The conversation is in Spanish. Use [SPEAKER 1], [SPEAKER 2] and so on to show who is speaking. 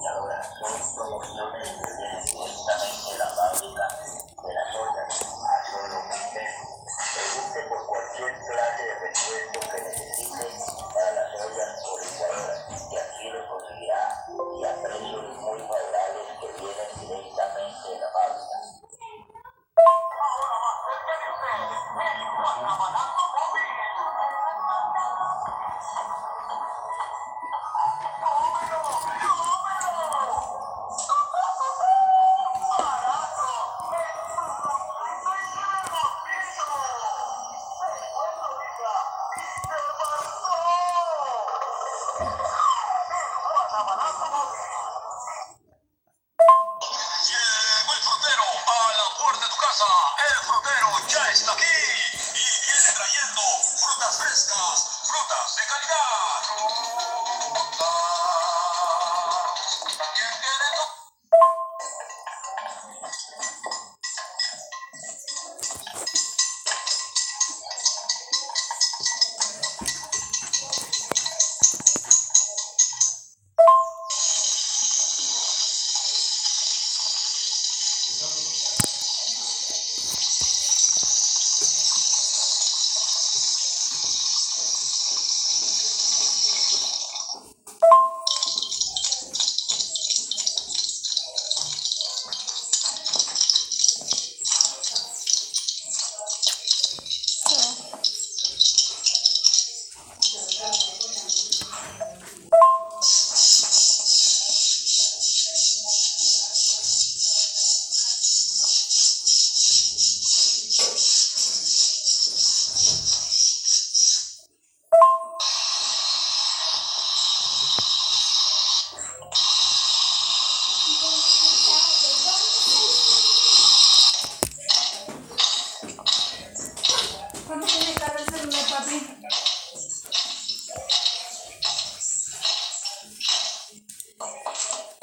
[SPEAKER 1] y ahora son promociones que vienen directamente de la fábrica de las ollas a solo 1.000 pesos. Pregunte por cualquier clase de repuesto que necesite para las ollas o licuadoras, que aquí lo conseguirá y a precios muy favorables que vienen directamente de la fábrica.
[SPEAKER 2] Llegó el frutero a la puerta de tu casa. El frutero ya está aquí y viene trayendo frutas frescas, frutas de calidad. ¿Quién quiere tu-
[SPEAKER 3] ¿Cuánto tiene carga el celular, papi?